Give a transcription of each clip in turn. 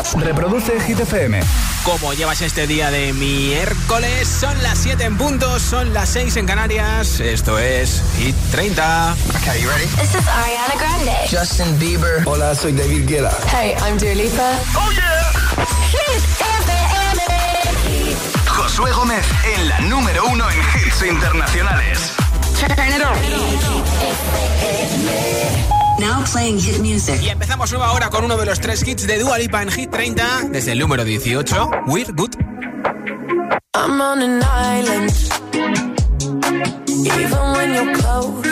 Reproduce Hit FM. ¿Cómo llevas este día de miércoles? Son las 7 en punto, son las 6 en Canarias. Esto es Hit 30. Okay, you ready? This is Ariana Grande. Justin Bieber. Hola, soy David Guetta. Hey, I'm Dua Lipa. Oh yeah. Hit FM. Josué Gómez en la número 1 en hits internacionales. Turn it on. Now playing hit music. Y empezamos nueva hora con uno de los 3 hits de Dua Lipa en Hit 30. Desde el número 18, We're Good. I'm on an island, even when you're close.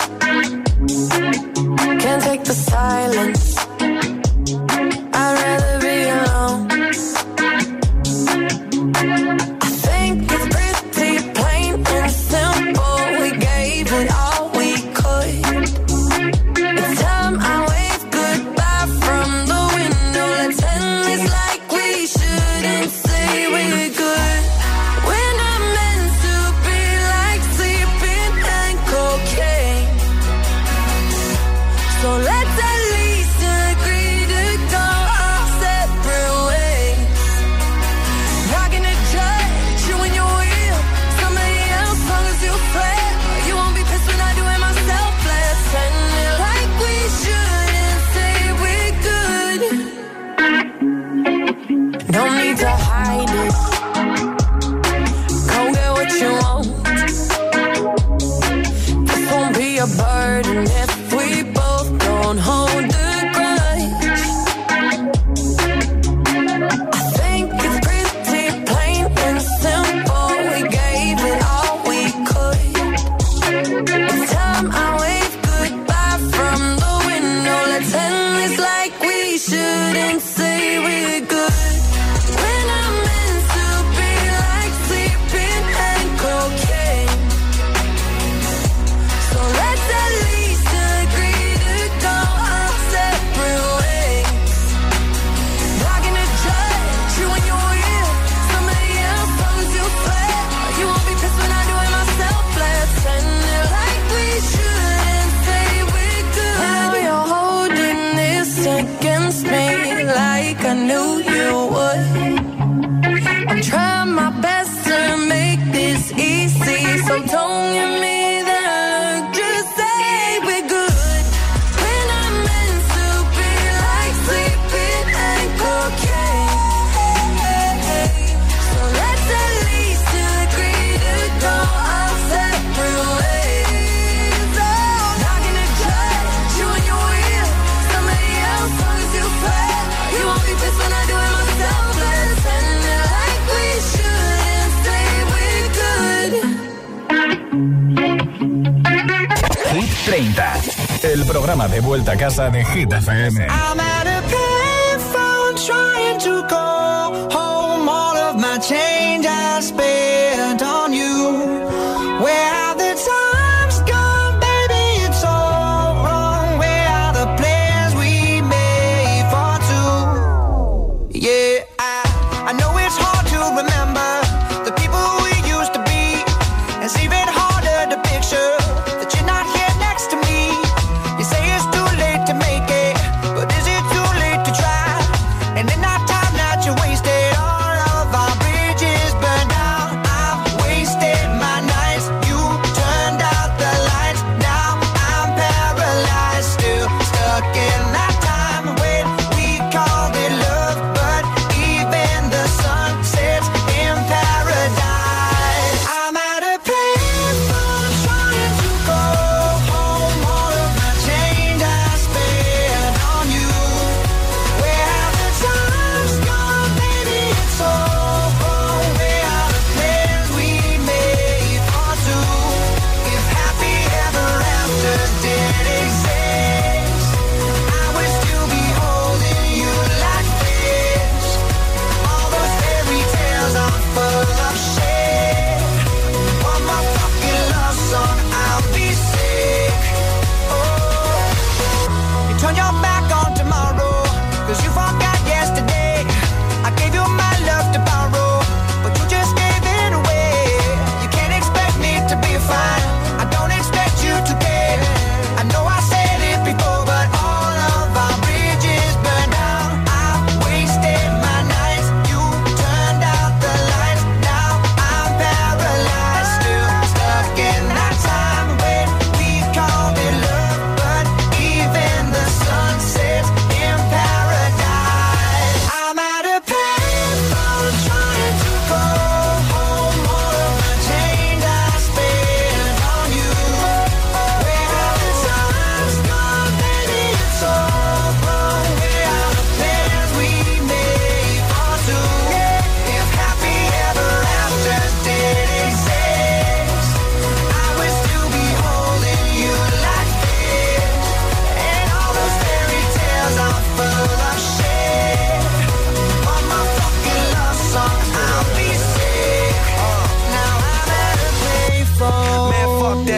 Can't take the silence, I'd rather be alone. I think it's pretty plain and simple, we gave it all we could. It's time I wave goodbye from the window. Let's end this like we shouldn't say we're good. We're not meant to be like sleeping and cocaine. So let's at least agree to go our separate ways. Not gonna judge you when you're with somebody else, long as you swear. You won't be pissed when I do it myself. Let's end it like we shouldn't say we're good. No need to hide it. Go get what you want. This won't be a burden if we both don't hold the grudge. I think it's pretty plain and simple. We gave it all we could. It's time I wave goodbye from the window. Let's end this like we shouldn't say we're good. We're not meant to be like sleeping and cocaine. So let's at least agree to go our separate ways. Not gonna judge you when you're with somebody else, long as you swear. You won't be pissed when I do it myself. Let's end it like we shouldn't say we're good. Now you're holding this against me like I knew you would. I'm trying my best to make this easy, so don't give me that look, just say we're good. We're not meant to be like sleeping and cocaine. So let's at least agree to go our separate ways. Oh, not gonna judge you when you're with somebody else, long as you swear. You won't be pissed when I do it myself. Let's end it like we shouldn't say we're good. Hit 30, el programa de vuelta a casa de Hit FM. I'm at a payphone trying to call home. All of my change I spent on you. Where have the times gone, baby? It's all wrong. Where are the plans we made for two? Yeah, I know it's hard to remember the people we used to be. It's even harder to picture that you're not here next to me. You say it's too late to make it, but is it too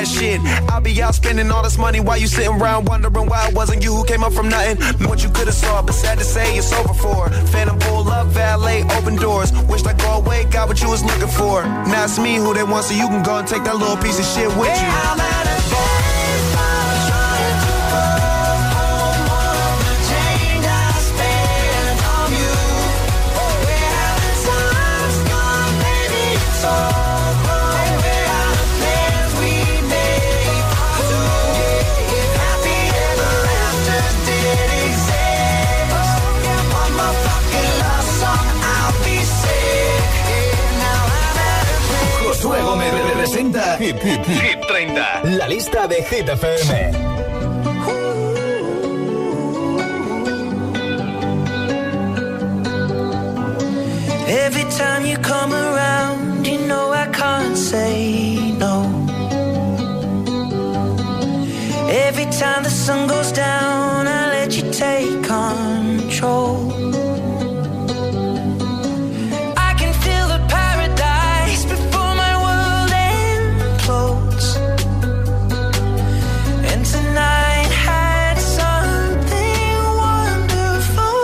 that shit. I'll be out spending all this money while you sitting around wondering why it wasn't you who came up from nothing. What you could've saw, but sad to say it's over for. Phantom pull up, valet, open doors. Wished I go away, got what you was looking for. Now it's me who they want, so you can go and take that little piece of shit with you. I'm at a baseball trying to go home. All of the change I spent on you. Where have the times gone, baby? It's all wrong. Where are the plans we made for two? If happy ever after did exist, one more fucking love song, I'll be sick. Now I'm at a place. Josué Gómez representa Hit 30, la lista de Hit FM. Every time you come around, you know I can't say no. Every time the sun goes down, I let you take control. I can feel the paradise before my world implodes. And tonight had something wonderful.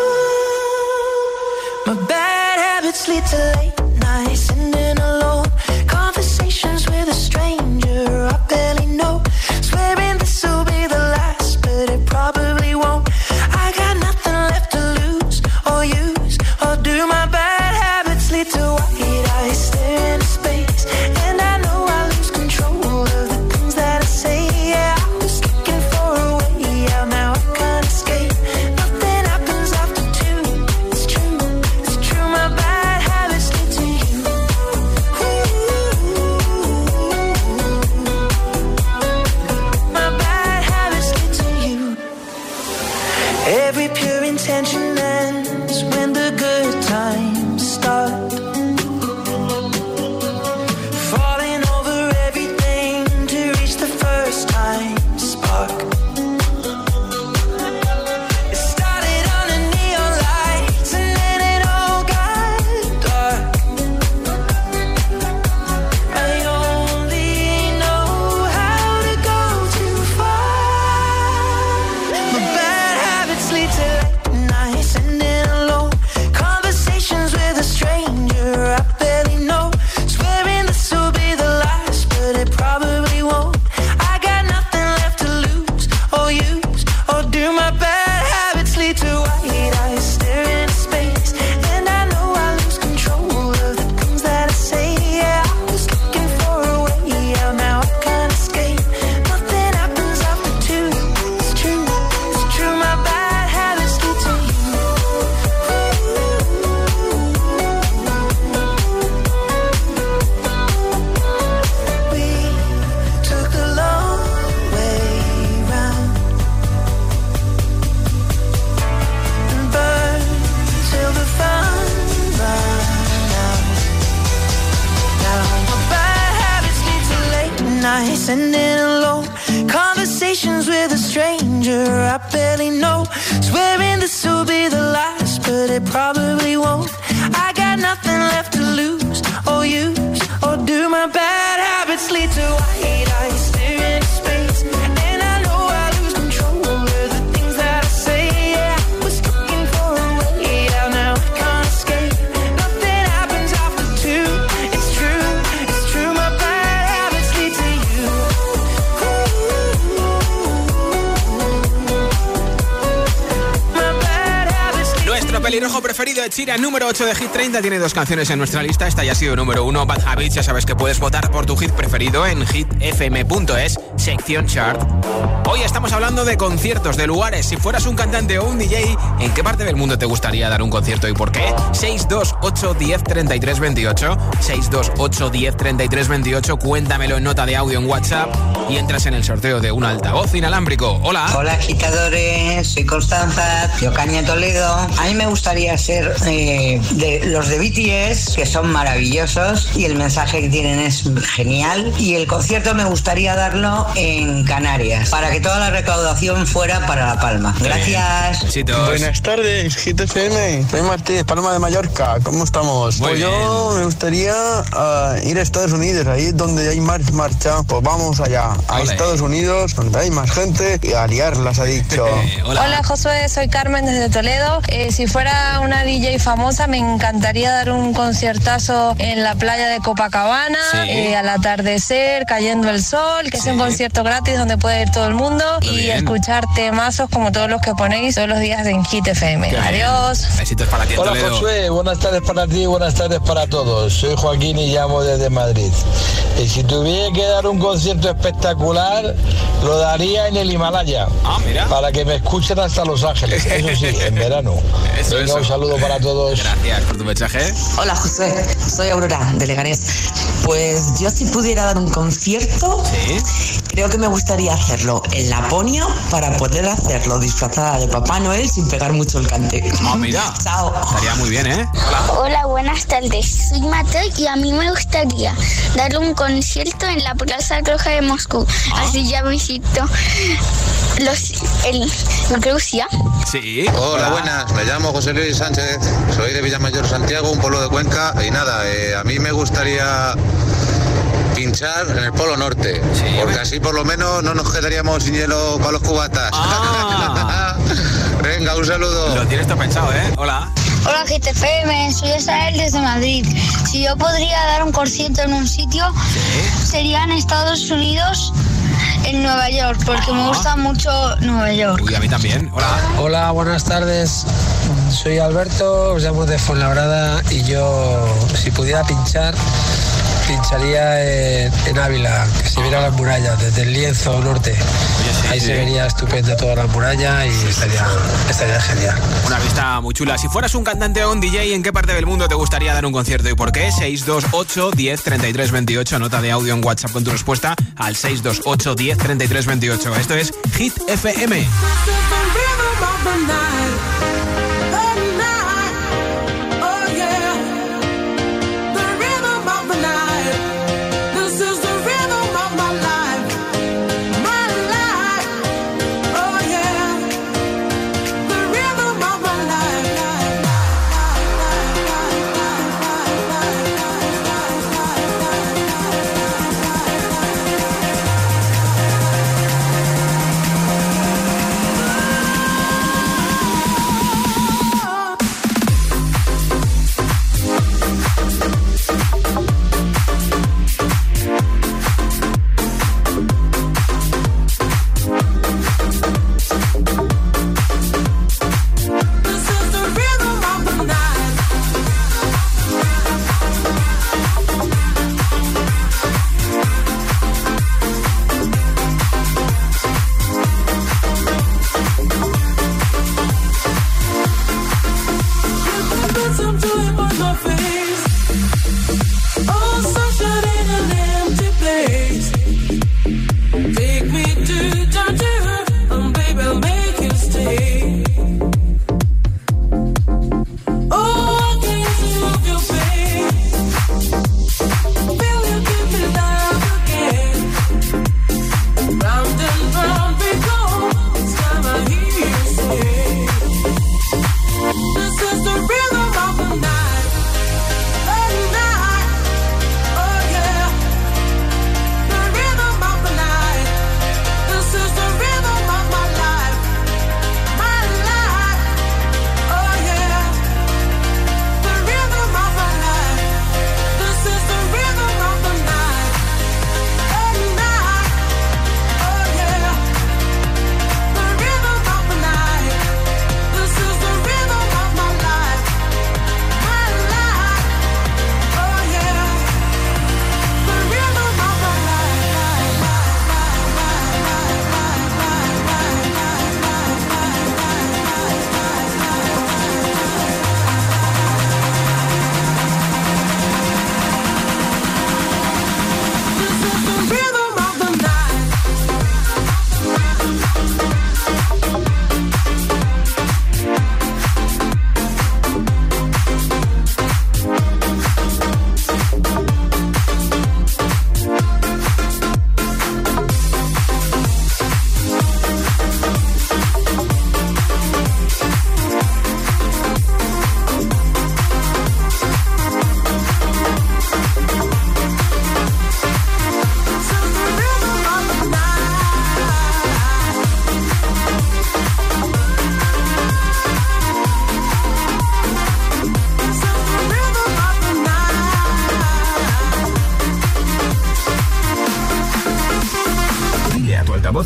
My bad habits lead to late nights, sitting alone. Conversations with a stranger I barely know. Swearing this will be the last, but it probably won't. I got nothing left to lose or use or do. My bad habits lead to white eyes stare into space, and I know I lose control of the things that I say. Yeah, I was looking for a way out, now I can't escape. Nothing happens after two. It's true, it's true. My bad habits lead to you. My bad habits lead to you. Every pure intention ends when the good times start. Falling over everything to reach the first time spark. It started under neon lights and then it all got dark. I only know how to go too far. My bad habits lead to late nights, sitting alone. Conversations with a stranger I barely know. Swearing this will be the last, but it probably won't. I got nothing left to lose or use or do. My bad habits lead to white eyes staring into space, and I know I lose control of the things that I say. Yeah, I was looking for a way out, now I can't escape. Nothing happens after two. It's true, it's true. My bad habits lead to you. We took the long way round and burned till the fun ran out. Now my bad habits lead to late nights, sitting alone. Conversations with a stranger I barely know. Swearing this will be the last, but it probably won't. I got nothing left to lose or use or do. My bad habits lead to white eyes staring into space, and I know I lose control of the things that I say. Yeah, I was looking for a way out, now I can't escape. Nothing happens after two. It's true, it's true. My bad habits lead to you. My bad habits lead. Nuestro pelirrojo preferido, Ed Sheeran, número 8 de Hit 30, tiene dos canciones en nuestra lista. Esta ya ha sido número 1, Bad Habits. Ya sabes que puedes votar por tu hit preferido en hitfm.es, sección chart. Hoy estamos hablando de conciertos, de lugares. Si fueras un cantante o un DJ, ¿en qué parte del mundo te gustaría dar un concierto y por qué? 628 10 33 28, 628 10 33 28. Cuéntamelo en nota de audio en WhatsApp y entras en el sorteo de un altavoz inalámbrico. Hola. Hola agitadores, soy Constanza, de Ocaña, Toledo. A mí me gustaría ser de los de BTS, que son maravillosos y el mensaje que tienen es genial. Y el concierto me gustaría darlo en Canarias, para que toda la recaudación fuera para La Palma. Gracias. Buenas tardes, Hit FM. Soy Martínez, Palma de Mallorca. ¿Cómo estamos? Muy pues bien. Yo me gustaría ir a Estados Unidos, ahí donde hay más marcha. Pues vamos allá, a Ole. Estados Unidos, donde hay más gente, y a liarlas, ha dicho. Hola Josué, soy Carmen desde Toledo. Si fuera una DJ famosa me encantaría dar un conciertazo en la playa de Copacabana, Sí. al atardecer, cayendo el sol, que es un concierto gratis donde puede ir todo el mundo Muy y bien. escuchar temazos como todos los que ponéis todos los días en Hit FM. Qué bien. Adiós. Besitos para ti en Hola Toledo. Josué, buenas tardes para ti, buenas tardes para todos. Soy Joaquín y llamo desde Madrid. Y si tuviera que dar un concierto espectacular, lo daría en el Himalaya. Mira. Para que me escuchen hasta Los Ángeles, eso sí, en verano. Venga, un saludo para todos. Gracias por tu mensaje. Hola José, soy Aurora de Leganés. Pues yo si pudiera dar un concierto, creo que me gustaría hacerlo en Laponia para poder hacerlo disfrazada de Papá Noel sin pegar mucho el cante. Mira. Chao. Estaría muy bien, ¿eh? Hola, buenas tardes. Soy Mateo y a mí me gustaría dar un concierto en la Plaza Roja de Moscú. Así ya visito Rusia. Sí. Hola, buenas. Me llamo José Luis Sánchez. Soy de Villamayor, Santiago, un pueblo de Cuenca. Y nada, a mí me gustaría pinchar en el Polo Norte. Porque así por lo menos no nos quedaríamos sin hielo para los cubatas. Venga, un saludo. Lo tienes todo pensado, ¿eh? Hola. Hola GTFM, soy Isael desde Madrid. Si yo podría dar un concierto en un sitio, sería en Estados Unidos, en Nueva York, porque me gusta mucho Nueva York. Uy, a mí también. Hola. Hola, buenas tardes. Soy Alberto, os llamo de Fuenlabrada y yo, si pudiera pincharía en Ávila, que se viera las murallas desde el lienzo norte. Ahí se vería estupendo toda la muralla y estaría genial. Una vista muy chula. Si fueras un cantante o un DJ, ¿en qué parte del mundo te gustaría dar un concierto y por qué? 628 10 33 28. Nota de audio en WhatsApp con tu respuesta al 628 10 33 28. Esto es Hit FM.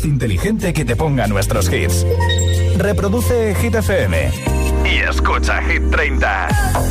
altavoz inteligente que te ponga nuestros hits. Reproduce Hit FM y escucha Hit 30.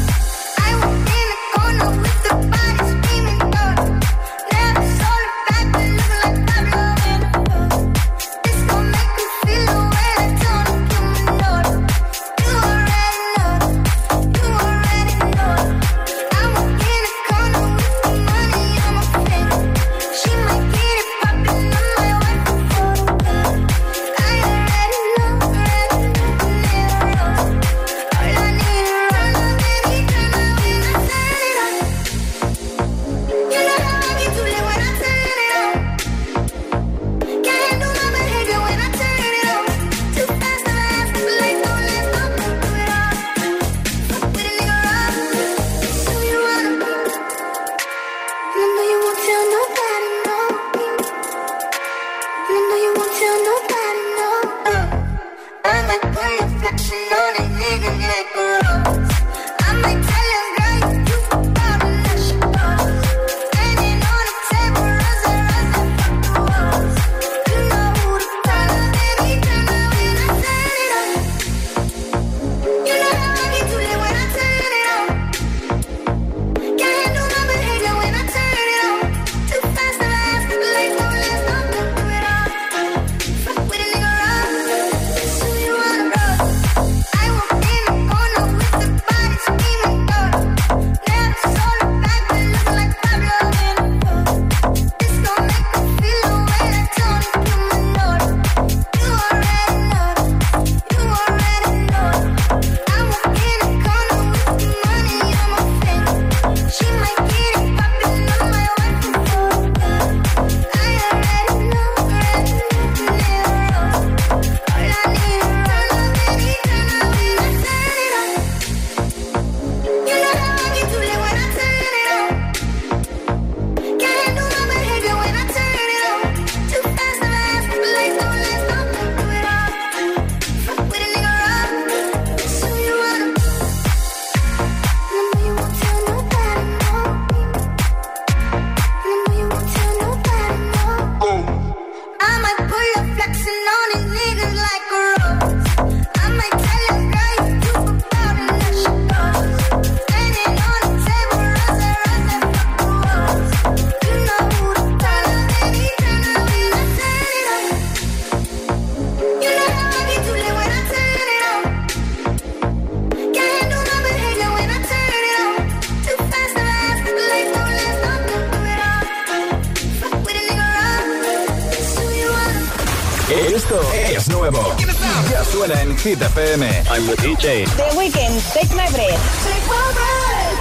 Esto es nuevo. Ya suena en Hit FM. I'm the DJ. The Weeknd, Take My Breath. Take my breath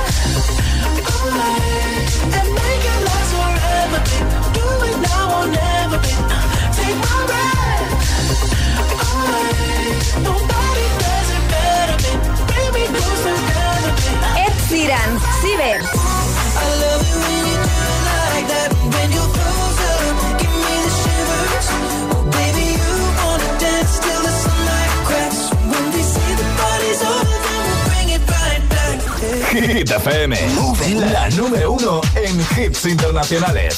and make it last forever. Do it now or never. Take my breath away. Nobody does it better. Bring me closer together. Ed Sheeran, Ciber. I love it when you do it like that. When you're closer, give me the shivers. Oh baby, you wanna dance till the sunlight cracks. When they say the party's over, then we'll bring it right back. Hit FM, la número 1 en hits internacionales.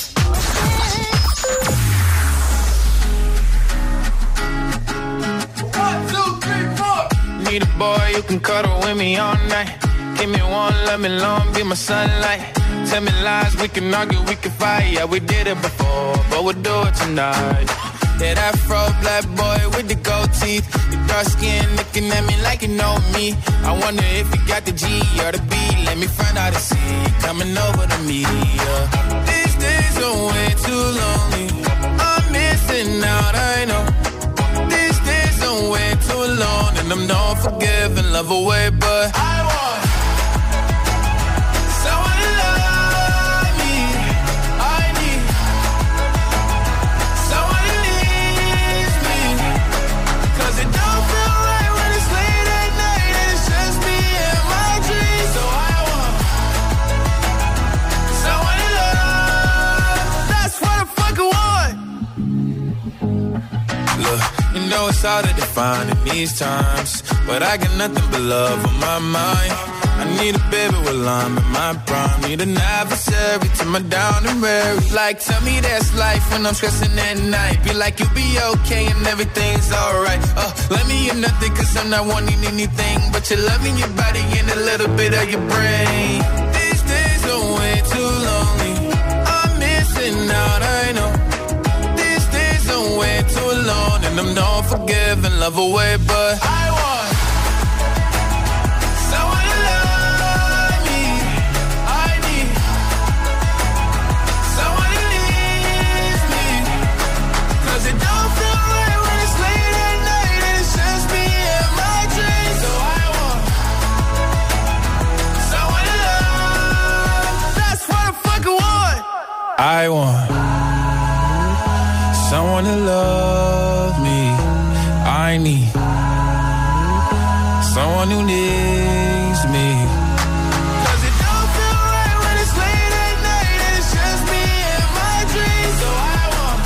Need a boy you can cuddle with me all night. Give me one, let me long, be my sunlight. Tell me lies, we can argue, we can fight. Yeah, we did it before, but we'll do it tonight. Yeah, that fro black boy with the gold teeth. The dark skin looking at me like you know me. I wonder if you got the G or the B. Let me find out and see you coming over to me. Yeah. These days are way too lonely. I'm missing out, I know. These days are way too long, and I'm not forgiving, love away, but I want someone to love me. I need someone who needs me. 'Cause it don't feel right when it's late at night and it's just me and my dreams. So I want someone to love. That's what I fucking want. Look, you know it's hard to define in these times, but I got nothing but love on my mind. I I need a baby while I'm in my prime. Need an adversary to my down and weary. Like, tell me that's life when I'm stressing at night. Be like, you'll be okay and everything's alright. Let me in nothing cause I'm not wanting anything but your love in your body and a little bit of your brain. These days are way too lonely. I'm missing out, I know. These days are way too long and I'm not forgiving, love away, but I want someone to love me. I need someone who needs me. Cause it don't feel right when it's late at night and it's just me and my dreams. So I want someone to love. That's what I fucking want. I want someone to love me. I need someone who needs me. Cause it don't feel right when it's late at night and it's just me and my dreams. So I want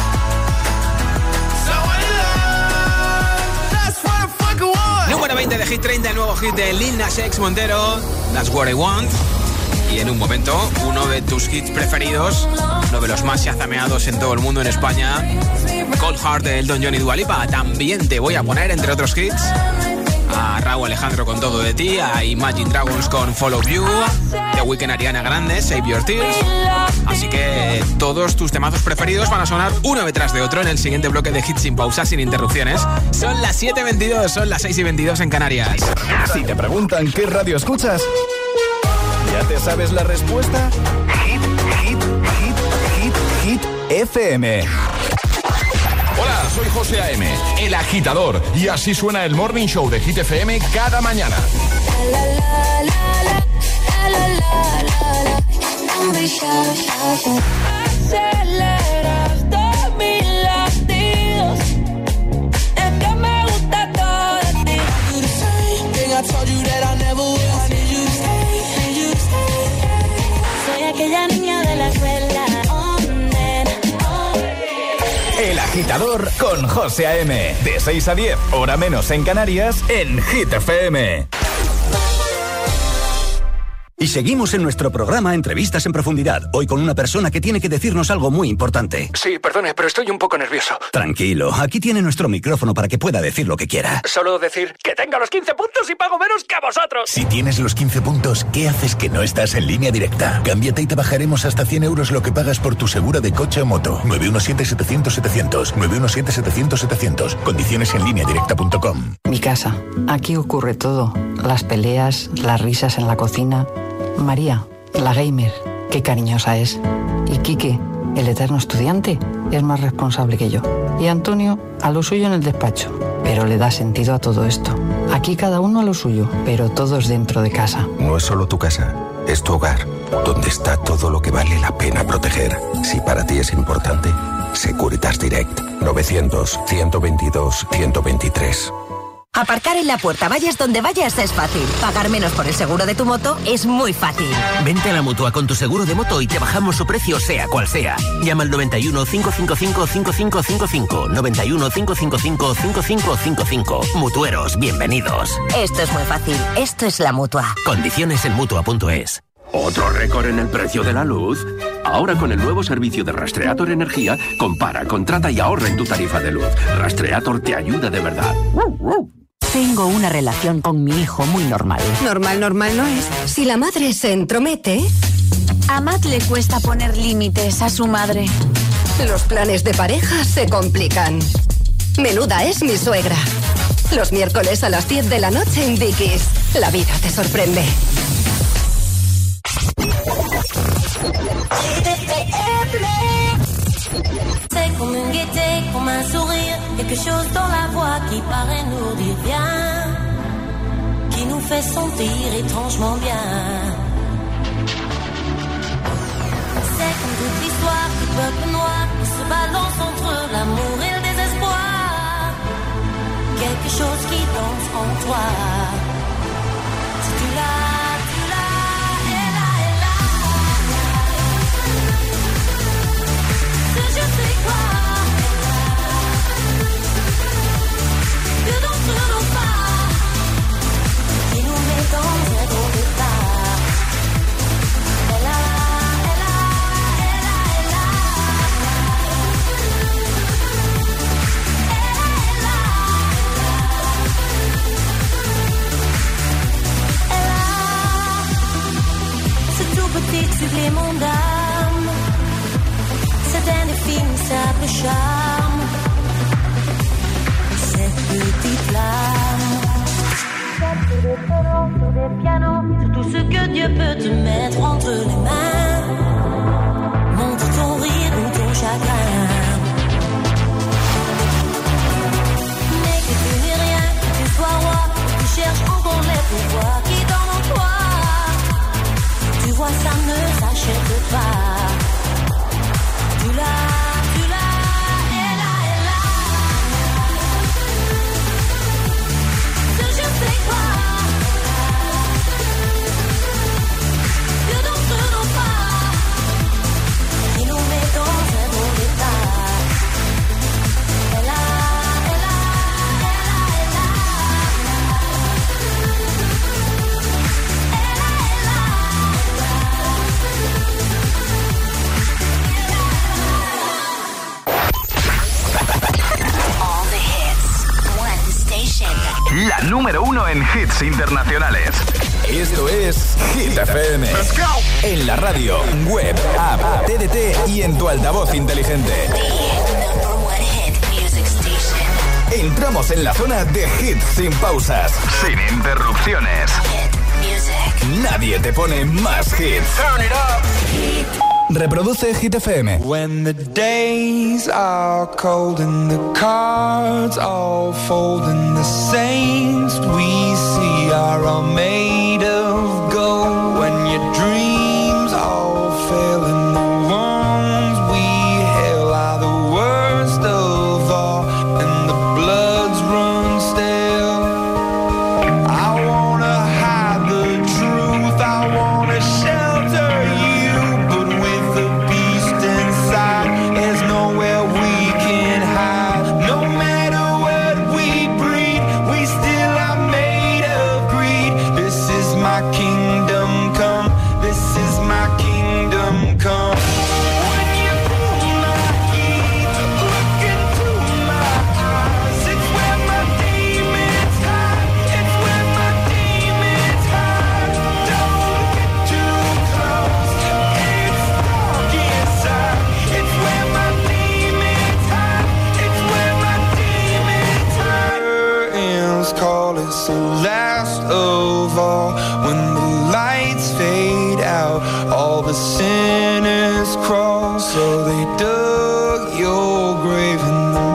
someone to love. That's what I fucking want. Número 20 de Hit 30, el nuevo hit de Lil Nas X Montero, That's What I Want. Y en un momento, uno de tus hits preferidos, uno de los más chazameados en todo el mundo, en España, Cold Heart de Elton John y Dua Lipa. También te voy a poner, entre otros hits, a Rauw Alejandro con Todo de Ti, a Imagine Dragons con Follow You, The Weeknd, Ariana Grande, Save Your Tears. Así que todos tus temazos preferidos van a sonar uno detrás de otro en el siguiente bloque de hits sin pausa, sin interrupciones. Son las 7:22, son las 6:22 en Canarias. Si te preguntan qué radio escuchas, ¿ya te sabes la respuesta? Hit FM. Hola, soy José A.M., el agitador, y así suena el Morning Show de Hit FM cada mañana. Aceleras mis latidos, es que me gusta todo de ti. I told you that I never would. I need you to stay, need you to stay. Soy aquella niña de la escuela. El agitador con José A.M. De 6 a 10, hora menos en Canarias, en Hit FM. Y seguimos en nuestro programa Entrevistas en Profundidad, hoy con una persona que tiene que decirnos algo muy importante. Sí, perdone, pero estoy un poco nervioso. Tranquilo, aquí tiene nuestro micrófono para que pueda decir lo que quiera. Solo decir que tengo los 15 puntos y pago menos que vosotros. Si tienes los 15 puntos, ¿qué haces que no estás en Línea Directa? Cámbiate y te bajaremos hasta 100 euros lo que pagas por tu seguro de coche o moto. 917-700-700. 917-700-700. Condiciones en lineadirecta.com. Mi casa. Aquí ocurre todo. Las peleas, las risas en la cocina. María, la gamer, qué cariñosa es. Y Quique, el eterno estudiante, es más responsable que yo. Y Antonio, a lo suyo en el despacho. Pero le da sentido a todo esto. Aquí cada uno a lo suyo, pero todos dentro de casa. No es solo tu casa, es tu hogar, donde está todo lo que vale la pena proteger. Si para ti es importante, Securitas Direct. 900-122-123. Aparcar en la puerta, vayas donde vayas, es fácil. Pagar menos por el seguro de tu moto es muy fácil. Vente a la Mutua con tu seguro de moto y te bajamos su precio sea cual sea. Llama al 91 555 5555. 91 555 5555. Mutueros, bienvenidos. Esto es muy fácil. Esto es la Mutua. Condiciones en Mutua.es. ¿Otro récord en el precio de la luz? Ahora con el nuevo servicio de Rastreator Energía, compara, contrata y ahorra en tu tarifa de luz. Rastreator te ayuda de verdad. Tengo una relación con mi hijo muy normal. Normal no es. Si la madre se entromete... A Matt le cuesta poner límites a su madre. Los planes de pareja se complican. Menuda es mi suegra. Los miércoles a las 10 de la noche en Dickies. La vida te sorprende. C'est comme une gaieté, comme un sourire, quelque chose dans la voix qui paraît nous dire bien, qui nous fait sentir étrangement bien. C'est comme toute l'histoire du peuple noir qui se balance entre l'amour et le désespoir, quelque chose qui danse en toi. Si tu l'as, je sais quoi, que dans ce nos pas, qui nous met dans un gros départ. remplit mon âme. C'est un indéfinissable charme. Cette petite flamme. Sur des violons, sur des pianos, sur tout ce que Dieu peut te mettre entre les mains. Montre ton rire ou ton chagrin. Mais que tu n'es rien, que tu sois roi, que tu cherches encore les pouvoirs qui dorment en toi. Tu vois, ça ne s'achète pas. Tu l'as, elle a. Ce je sais quoi. Que d'entre nos pas, qui nous met dans un bon état. Elle a. La número 1 en hits internacionales. Esto es Hit FM. Let's go. En la radio, web, app, TDT y en tu altavoz inteligente. Entramos en la zona de hits sin pausas, sin interrupciones. Nadie te pone más hits. Turn it up. Reproduce Hit FM. When the days are cold and the cards all fold and the saints we see are all made of gold. When your dreams all fail and the ones we hail are the worst of all and the bloods run stale. I wanna hide the truth, I wanna shelter you. There's nowhere we can hide. No matter what we breed, we still are made of greed. This is my kingdom come. This is my kingdom come. When you pull my key, look into my eyes. It's where my demons hide. It's where my demons hide. Don't get too close. It's dark inside. It's where my demons hide. It's where my demons hide. Curtains call us the last of all. When the lights fade out, all the sinners crawl. So they dug your grave and the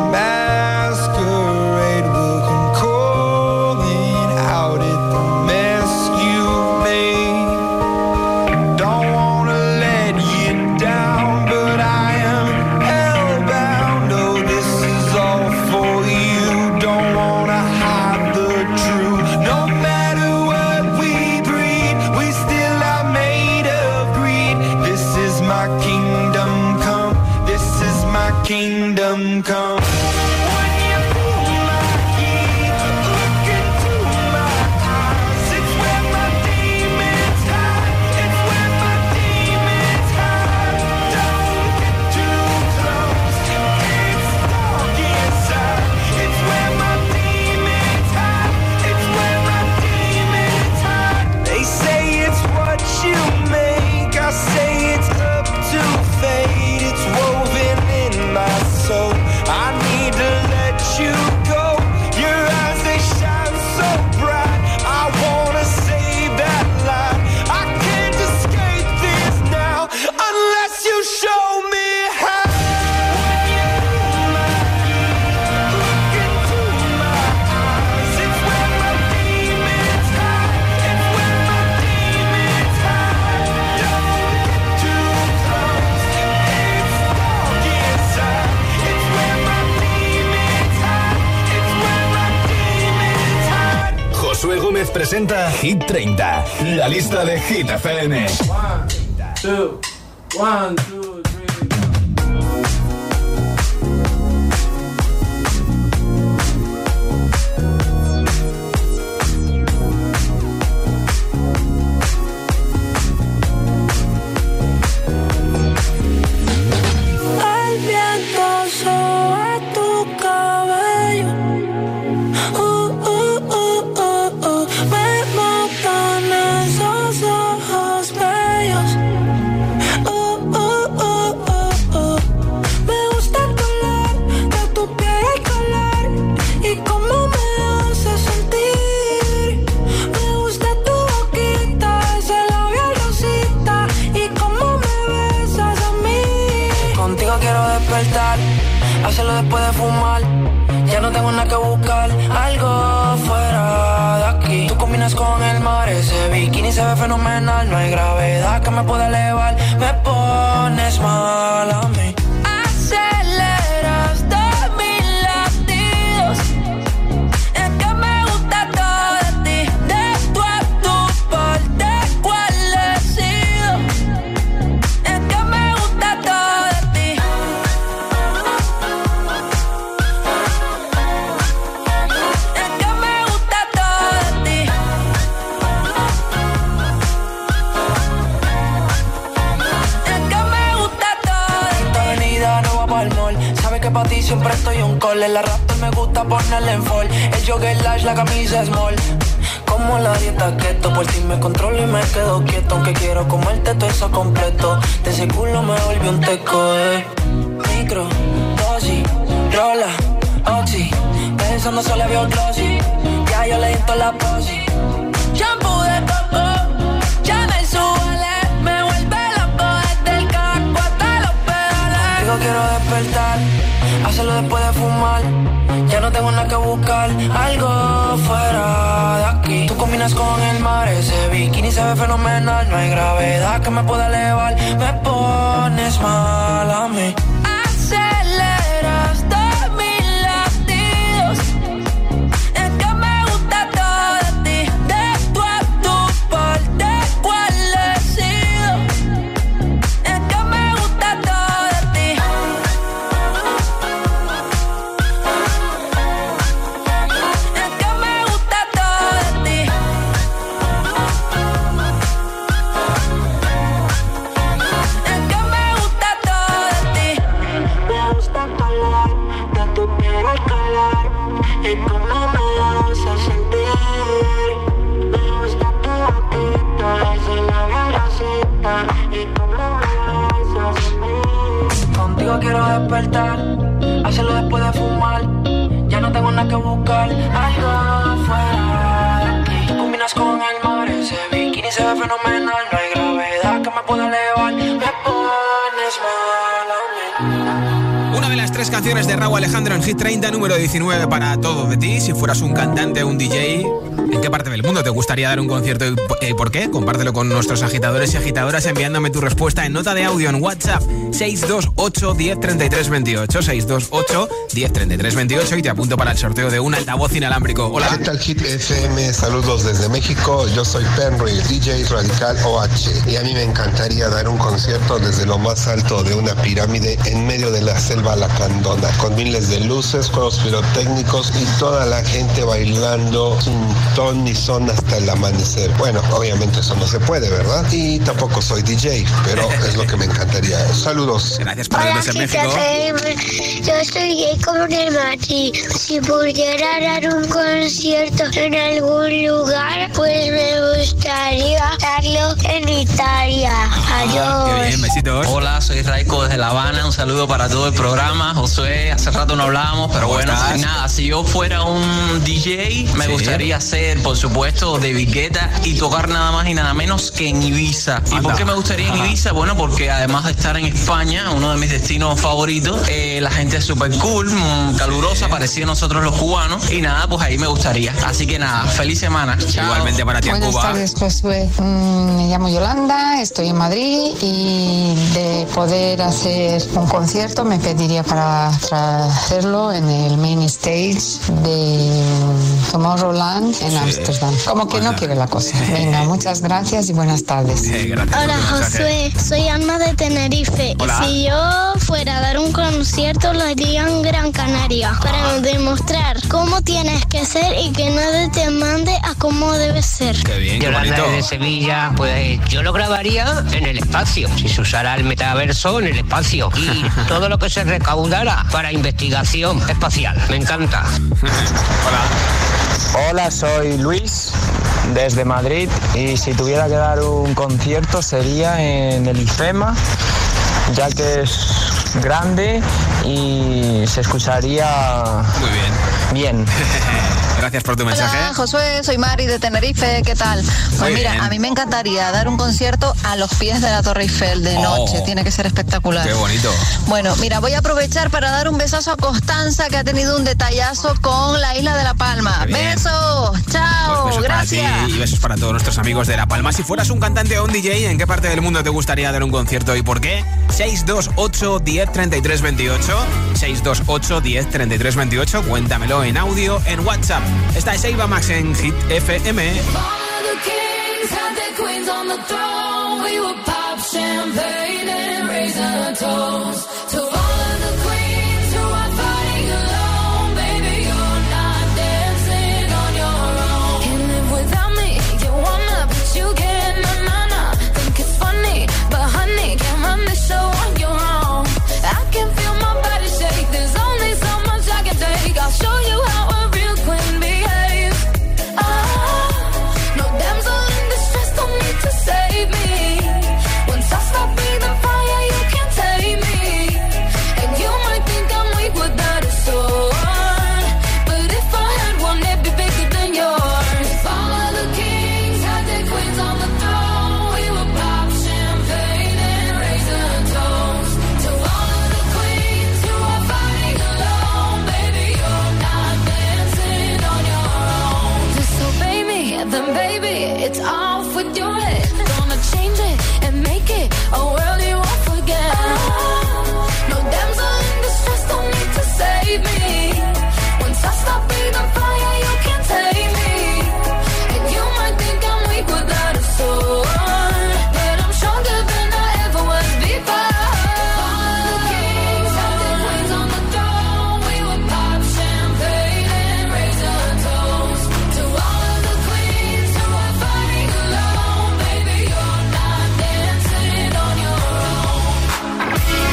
masquerade will come calling out at the mess you made. Don't wanna let you down, but I am hellbound. Oh, this is all for you. Don't wanna hide the truth. No matter what we breed, we still are made of greed. This is my kingdom come. This is my kingdom come. When you pull my key, look into my eyes. It's where my demons hide. It's where my demons hide. Don't get too close. It's dark inside. It's where my demons hide. It's where my demons hide. They say it's what you make. I say it's up to fate. It's woven in my soul. I need to let you go. Your eyes, they shine so bright. I wanna save that light. I can't escape this now unless you show me how. When you pull my key, look into my eyes. It's where my demons hide. It's where my demons hide. Don't get too close. It's dark inside. It's where my demons hide. It's where my demons hide. Josué Gómez presenta Hit 30, la lista de Hit FM. 1, 2, 3. El viento sobre tu cabello. Me matan esos ojos bellos. hacerlo después de fumar. Ya no tengo nada que buscar, algo fuera de aquí. Tú combinas con el mar, ese bikini se ve fenomenal. No hay gravedad que me pueda elevar, me pones mal a mí. Aceleras todos mis latidos, es que me gusta todo de ti. De tú a tu parte, ¿cuál he sido? Es que me gusta todo de ti. Es que me gusta todo de ti. Es que me gusta todo de ti. Esta avenida no va pa'l mall. Sabe que pa' ti siempre estoy un call. La raptor me gusta ponerle en fall. El jogger large, la camisa small. Como la dieta keto, por ti me controlo y me quedo quieto. Aunque quiero comerte todo eso completo. De ese culo me volvió un teco, Micro, dosis, rola, oxi. Pensando solo veo glossy. Ya yo le di toda la posi. Shampoo de coco, ya me suele. Me vuelve loco desde el casco hasta los pedales. Digo quiero despertar, hacerlo después de fumar. Ya no tengo nada que buscar, algo fuera de aquí. Tú combinas con el mar, ese bikini se ve fenomenal. No hay gravedad que me pueda elevar, me pones mal a mí. Aceleras todos mis latidos, es que me gusta todo de ti. De tú a tu parte, ¿cuál he sido? Es que me gusta todo de ti. Es que me gusta todo de ti. Es que me gusta todo de ti. Me gusta el color de tu piel al calor y cómo me hace sentir. Me gusta tu boquita, ese labio rosita y cómo me hace sentir. Contigo quiero despertar, hacerlo después de fumar. Ya no tengo nada que buscar, algo fuera de aquí. Tú combinas con el mar, ese bikini se ve fenomenal. No hay gravedad que me pueda elevar, me pones mal a mí. Una de las 3 canciones de Rauw Alejandro en Hit 30, número 19 para Todo de Ti. Si fueras un cantante o un DJ, ¿en qué parte del mundo te gustaría dar un concierto y por qué? Compártelo con nuestros agitadores y agitadoras enviándome tu respuesta en nota de audio en WhatsApp 628 10 33 28 628 10 33 28 y te apunto para el sorteo de un altavoz inalámbrico. Hola. ¿Qué tal, Hit FM? Saludos desde México. Yo soy Penry, DJ Radical OH, y a mí me encantaría dar un concierto desde lo más alto de una pirámide en medio de la selva lacandona, con miles de luces, juegos pirotécnicos y toda la gente bailando sin ton ni son hasta el amanecer. Bueno, obviamente eso no se puede, ¿verdad? Y tampoco soy DJ, pero es lo que me encantaría. Saludos. Gracias por vernos en México. Yo soy Jacob de Madrid. Si pudiera dar un concierto en algún lugar, pues me gustaría darlo en Italia. Adiós. Qué bien, besitos. Hola, soy Raiko desde La Habana. Un saludo para todo el programa. Josué, hace rato no hablábamos, pero bueno, nada, si yo fuera un DJ, me gustaría ser, por supuesto, David Guetta y tocar nada más y nada menos que en Ibiza. ¿Y por qué me gustaría en Ibiza? Bueno, porque además de estar en España, uno de mis destinos favoritos, la gente es súper cool, calurosa, parecida a nosotros los cubanos, y nada, pues ahí me gustaría. Así que nada, feliz semana. Chao. Igualmente para ti en Cuba. Buenas tardes, Josué. Me llamo Yolanda, estoy en Madrid y de poder hacer un concierto me pediría para hacerlo en el main stage de Tomorrowland en Ámsterdam. Como que no quiere la cosa. Venga, muchas gracias y buenas tardes. Hola, Josué, soy Alma de Tenerife. Hola. Si yo fuera a dar un concierto, lo haría en Gran Canaria para demostrar cómo tienes que ser y que nadie te mande a cómo debes ser. Qué bien, qué Yolanda bonito. de Sevilla, pues yo lo grabaría en el espacio, si se usara el metaverso en el espacio y todo lo que se recaudara para investigación espacial. Me encanta. Hola, soy Luis desde Madrid y si tuviera que dar un concierto sería en el IFEMA, ya que es grande y se escucharía muy bien. Gracias por tu mensaje. Hola, Josué, soy Mari de Tenerife, ¿qué tal? Pues Muy mira, bien. a mí me encantaría dar un concierto a los pies de la Torre Eiffel de noche, tiene que ser espectacular. Qué bonito. Bueno, mira, voy a aprovechar para dar un besazo a Constanza, que ha tenido un detallazo con la isla de La Palma. Qué bien. ¡Besos! ¡Chao! Pues besos ¡Gracias! para ti y besos para todos nuestros amigos de La Palma. Si fueras un cantante o un DJ, ¿en qué parte del mundo te gustaría dar un concierto y por qué? 628 10 33 28. 628 10 33 28. Cuéntamelo en audio en WhatsApp. Esta es Eva Max en Hit FM. I'll show you how a real queen behaves. No damsel in distress, don't need to save me. Once I stop breathing fire, you can't take me. And you might think I'm weak without a sword, but if I had one, it'd be bigger than yours. If all of the kings had their queens on the throne, we would pop champagne and raise a toast to all of the queens who are fighting alone. Baby, you're not dancing on your own. Disobey me, then baby, it's off with your head. Gonna change it and make it a world you won't forget. No damsel in distress, don't need to save me. Once I stop breathing fire, you can't take me. And you might think I'm weak without a sword, but I'm stronger than I ever was before. All the kings had their queens on the throne. We would pop champagne and raise a toast to all of the queens who are fighting alone. Baby, you're not dancing on your own.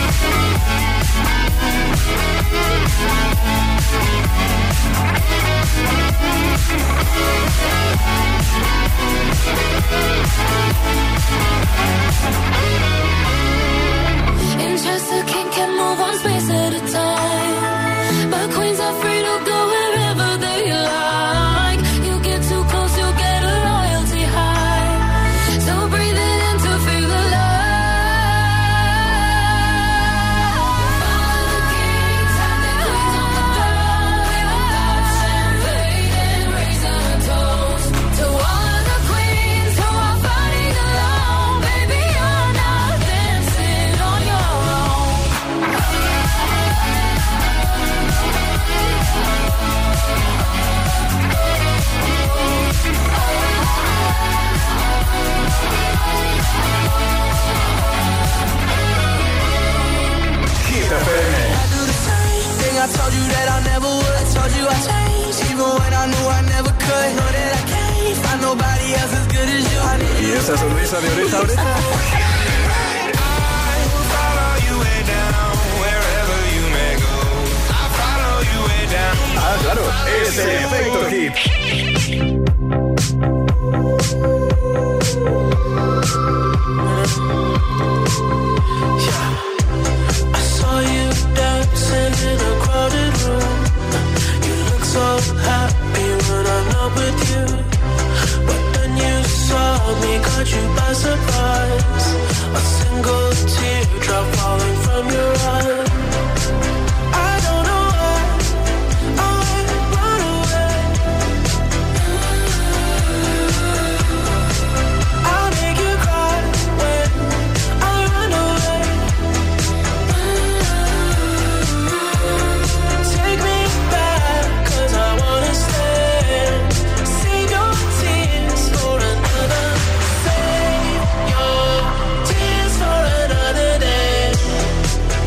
Interest king can move one space at a time, but queens are free to go wherever they like. You get too close, you'll get a royalty high. So breathe it in to feel the love. All the kings have their queens on the throne. We will pop champagne and raise a toast to all of the queens who are fighting alone. Baby, you're not dancing on your own. Hit FM. Thing I told you that I never would. I told you I changed, even when I knew I never could. Know that I can't find nobody else as good as you. I need Y esa sonrisa de oreja a oreja. Ah, claro, es el efecto hit. I saw you dancing in a crowded room. You look so happy when I'm not with you. But then you saw me, caught you by surprise. A single teardrop falling from your eye. I don't know why I run away. I'll make you cry when I run away. Take me back, 'cause I wanna stay. Save your tears for another. Save your tears for another day.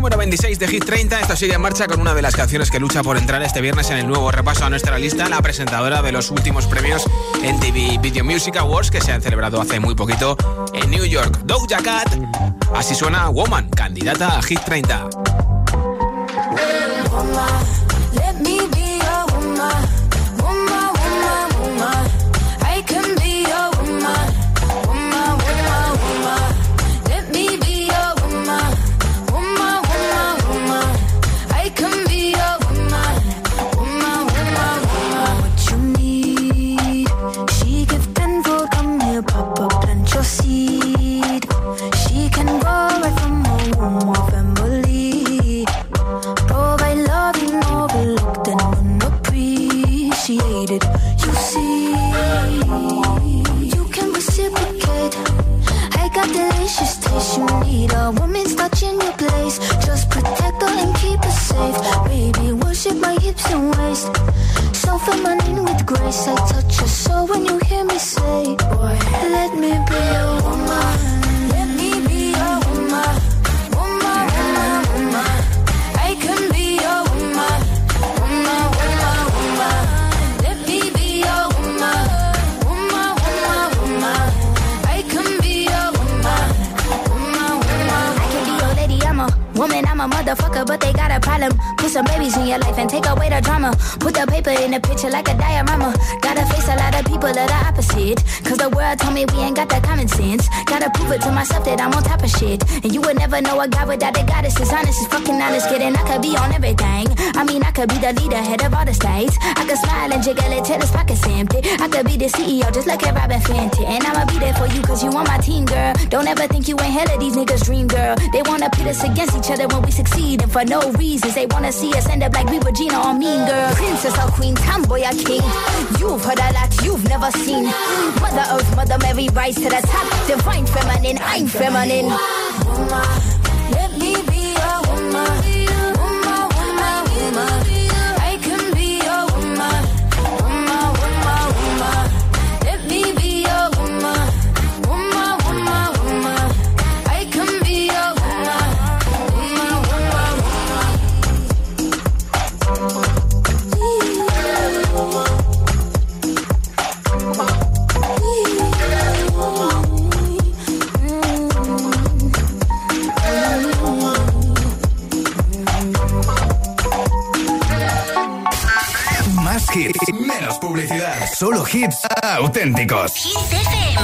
número 26 de Hit 30. Esto sigue en marcha con una de las canciones que lucha por entrar este viernes en el nuevo repaso a nuestra lista, la presentadora de los últimos premios MTV Video Music Awards que se han celebrado hace muy poquito en New York. Doja Cat, así suena Woman, candidata a Hit 30. A woman's touching your place. Just protect her and keep her safe. Baby, worship my hips and waist. So feminine with grace. I touch your soul when you hear me say, boy, let me be a woman. Let me be a woman. Woman, woman, woman. I can be a woman. Woman, woman, woman. Let me be a woman. Woman, woman, woman. I can be a woman. Woman, I'm a motherfucker, but they got a problem. Put some babies in your life and take away the drama. Put the paper in the picture like a diorama. Gotta face a lot of people that are opposite. Cause the world told me we ain't got that common sense. Gotta prove it to myself that I'm on top of shit. And you would never know a guy without a goddess is honest, is fucking honest. Kidding, I could be on everything. I mean, I could be the leader, head of all the states. I could smile and jiggle it till his pockets empty. I could be the CEO just like a Robin Fenty. And I'ma be there for you cause you on my team, girl. Don't ever think you ain't hell of these niggas' dream, girl. They wanna pit us against each other when we succeed, and for no reasons. They wanna see us end up like we were Gina or Mean Girl. Princess or queen, tomboy or king. You've heard a lot you've never seen. Mother Earth, Mother Mary, rise to the top. Divine feminine, I'm feminine. Woman, let me be a woman. Woman, woman, woman. I can be a woman. Woman, woman, woman. Let me be a woman. Woman, woman, woman. I can be a woman. Más hits, menos publicidad. Solo hits auténticos. Hits FM.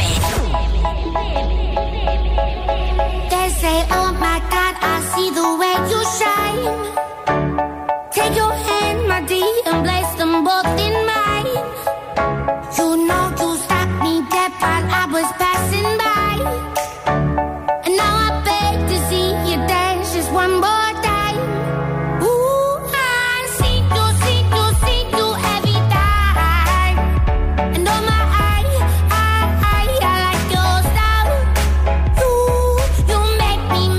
They say, oh my God, I see the way you shine. Take your hand, my dear, and place them both in mine. You know you stopped me dead while I was passing by. And now I beg to see you dance just one more time. Ooh, I see you every time. And oh my, I like your style. You make me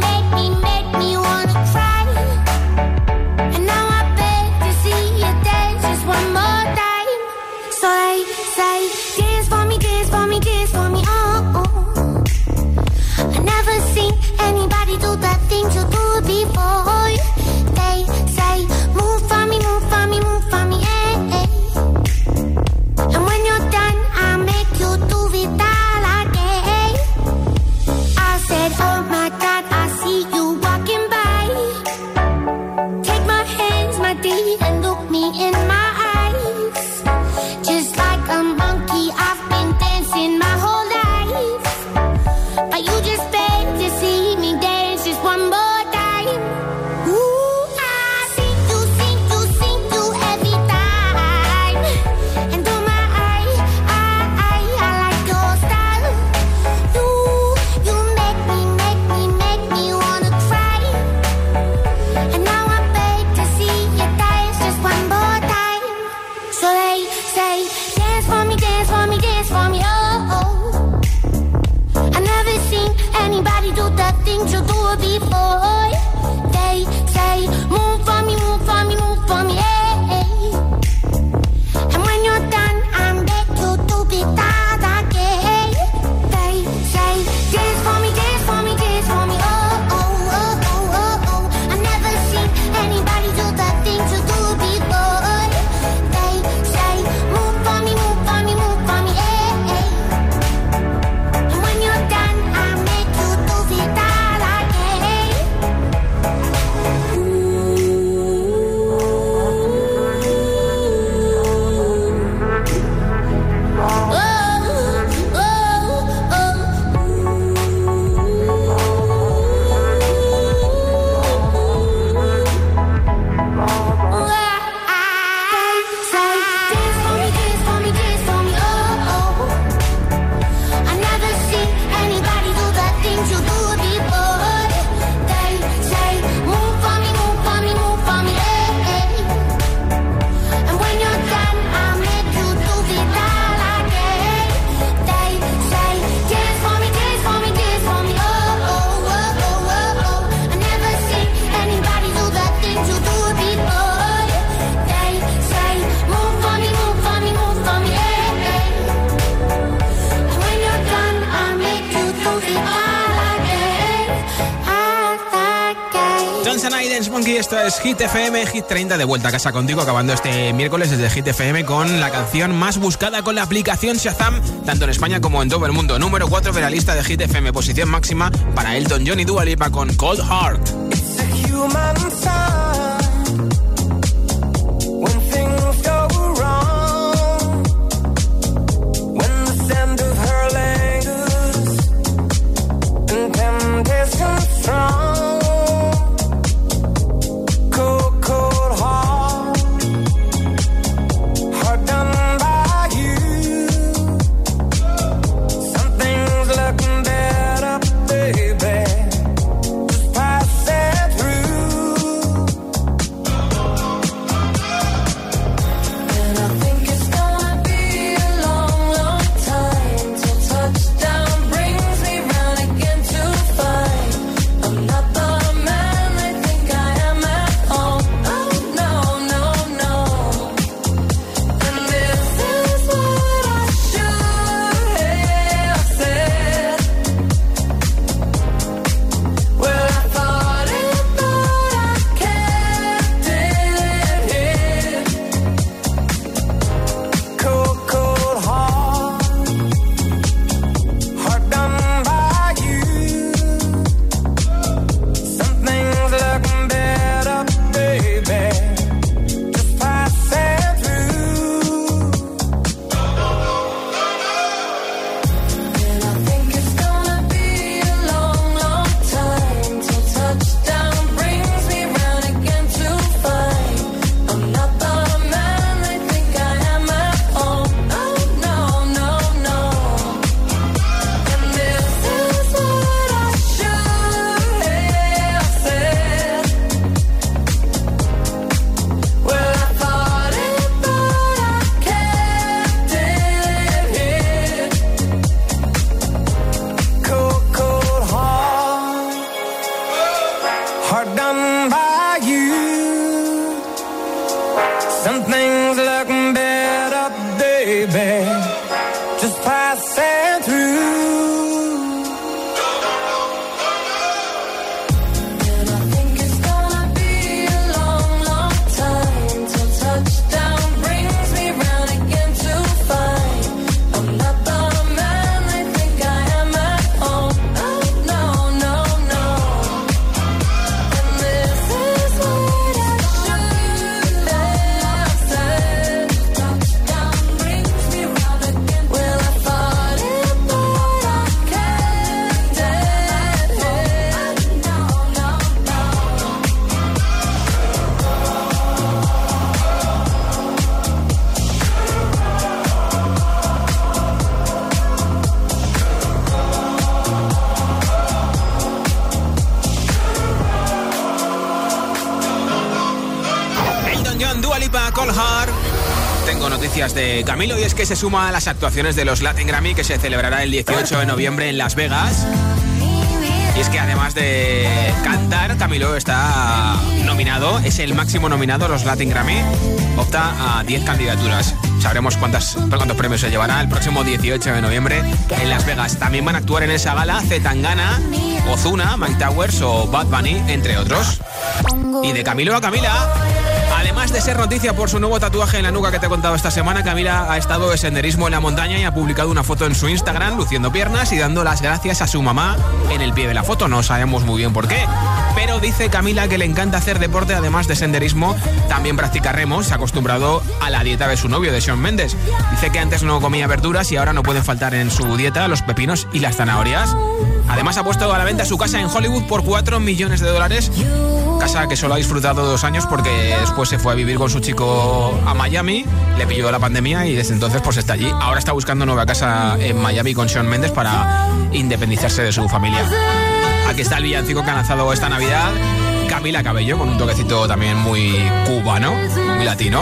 Johnson y Dance Monkey, esto es Hit FM, Hit 30, de vuelta a casa contigo, acabando este miércoles desde Hit FM con la canción más buscada con la aplicación Shazam, tanto en España como en todo el mundo. Número 4 de la lista de Hit FM, posición máxima para Elton John y Dua Lipa con Cold Heart. De Camilo, y es que se suma a las actuaciones de los Latin Grammy que se celebrará el 18 de noviembre en Las Vegas. Y es que además de cantar, Camilo está nominado, es el máximo nominado a los Latin Grammy, opta a 10 candidaturas. Sabremos cuántos premios se llevará el próximo 18 de noviembre en Las Vegas. También van a actuar en esa gala C. Tangana, Ozuna, Mike Towers o Bad Bunny, entre otros. Y de Camilo a Camila, además de ser noticia por su nuevo tatuaje en la nuca que te he contado esta semana, Camila ha estado de senderismo en la montaña y ha publicado una foto en su Instagram luciendo piernas y dando las gracias a su mamá en el pie de la foto. No sabemos muy bien por qué, pero dice Camila que le encanta hacer deporte, además de senderismo, también practica remo. Se ha acostumbrado a la dieta de su novio, de Shawn Mendes. Dice que antes no comía verduras y ahora no pueden faltar en su dieta los pepinos y las zanahorias. Además ha puesto a la venta su casa en Hollywood por $4 millones, casa que solo ha disfrutado 2 años porque después se fue a vivir con su chico a Miami, le pilló la pandemia y desde entonces pues está allí. Ahora está buscando nueva casa en Miami con Shawn Mendes para independizarse de su familia. Aquí está el villancico que ha lanzado esta Navidad Camila Cabello, con un toquecito también muy cubano, muy latino.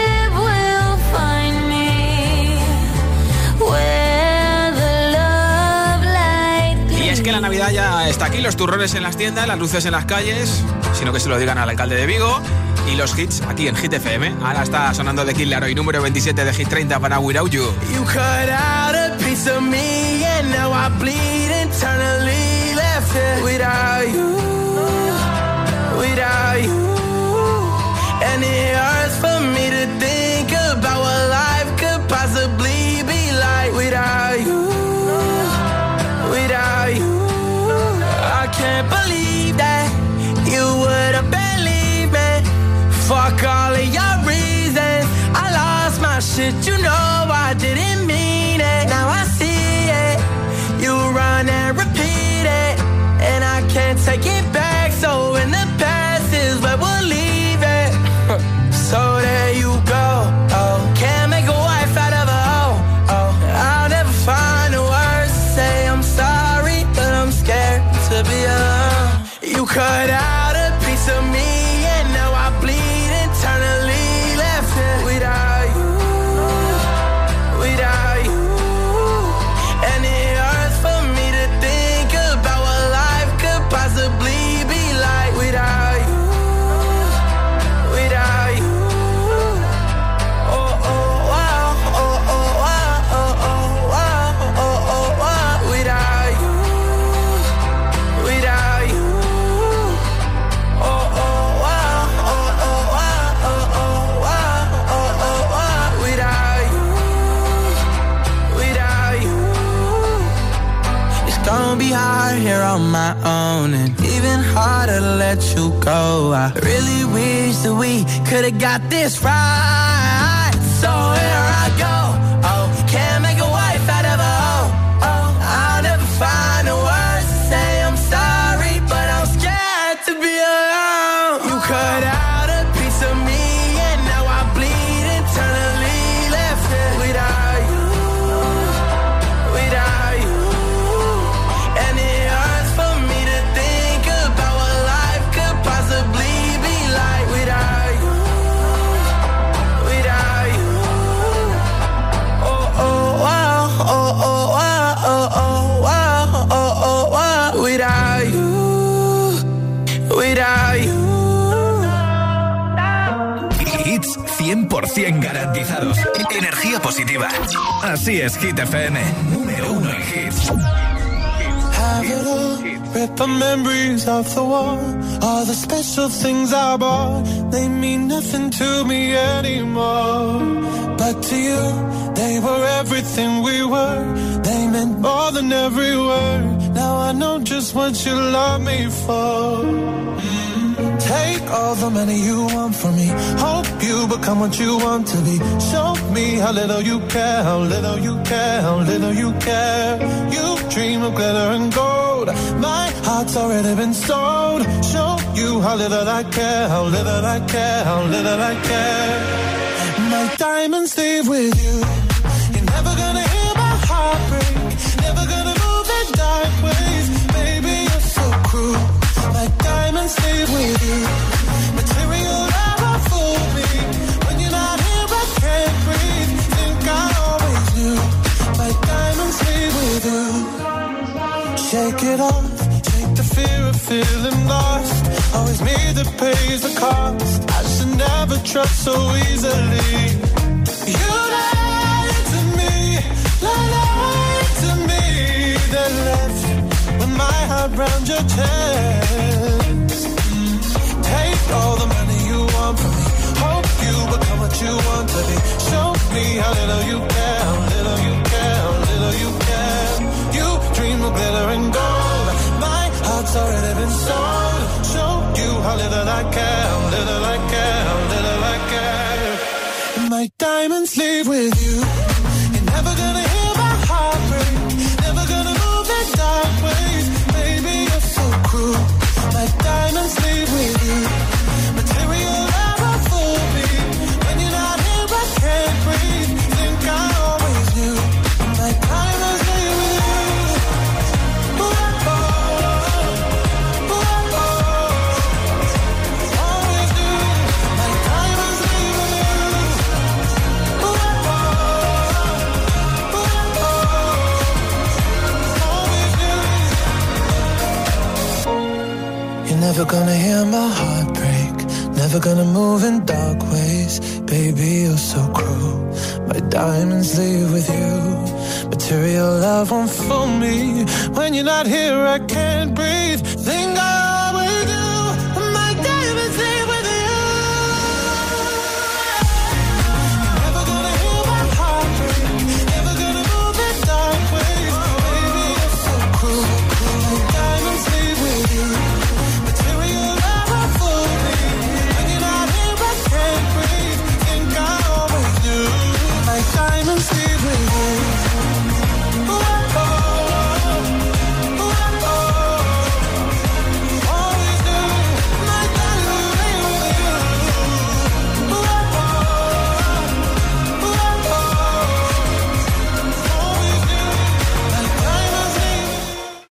Y es que la Navidad ya está aquí, los turrones en las tiendas, las luces en las calles, sino que se lo digan al alcalde de Vigo, y los hits aquí en Hit FM. Ahora está sonando The Kid Laroi, número 27 de Hit 30 para Without You. You cut out a piece of me and now I bleed internally, left it without you, without shit, you know I didn't mean it. Now I see it. You run and repeat it, and I can't take it back. So in the past is where we'll leave it. So there you go. Oh, can't make a wife out of a hoe. Oh, I'll never find the words to say I'm sorry, but I'm scared to be alone. You cut out a piece of me, and now I bleed internally. Left it without you, without you. And it hurts for me to think about what life could possibly be like without you, without you. Oh, oh, wow, oh, oh, wow, oh, oh, wow, oh, oh, wow. Without you, without you. Oh, oh, wow, oh, oh, wow, oh, oh, wow, oh, oh, wow. Without you, without you. It's gonna be hard here on my own, and even harder to let you go. I really wish that we could've got this right. So here I go. Oh, can't make a wife out of a hoe. Oh, I'll never find the words to say I'm sorry, but I'm scared to be alone. You cut out a piece of me, and now I bleed internally. Left it without you, without you. And it hurts for me to think about what life could possibly be like without you, without you. Oh, oh, wow, oh, oh, wow, oh, oh, wow, oh, oh, wow. Without you, without you. Hits 100% garantizados. Energía positiva. Así es, Hit FM. Número 1 en hits. Have it all, rip the memories of the war. All the special things I bought, they mean nothing to me anymore. But to you, they were everything we were. They meant more than every word. Now I know just what you love me for. Take all the money you want from me. Hope you become what you want to be. Show me how little you care, how little you care, how little you care. You dream of glitter and gold. My heart's already been sold. Show you how little I care, how little I care, how little I care. My diamonds leave with you. You're never gonna hear my heart break. Never gonna move in dark ways. Baby, you're so cruel. My diamonds leave with you. Material never fool me. When you're not here, I can't breathe. Think I always knew. My diamonds leave with you. Shake it off. Shake the fear of feeling lost. Always me that pays the cost. I should never trust so easily. You lied to me. Lied to me. Then left with my heart round your chest. Take all the money you want from me. Hope you become what you want to be. Show me how little you care, how little you care, how little you care. You dream of glitter and gold. My heart's already been sold. Show you how little I care, how little I care, how little I care. And my diamonds leave with you. You're never gonna hear my heart break. Never gonna move in dark ways. Baby, you're so cruel. My diamonds leave with you. Material never fool me. When you're not here, I can't breathe. Think I always knew. My diamonds leave with you. Ooh, oh, ooh, oh, always knew. My diamonds leave with you. Ooh, oh, always knew. You're never gonna hear my heart break. Never gonna move in dark ways. Baby, you're so cruel. My diamonds leave with you. Material love won't fool me. When you're not here, I can't breathe. Think I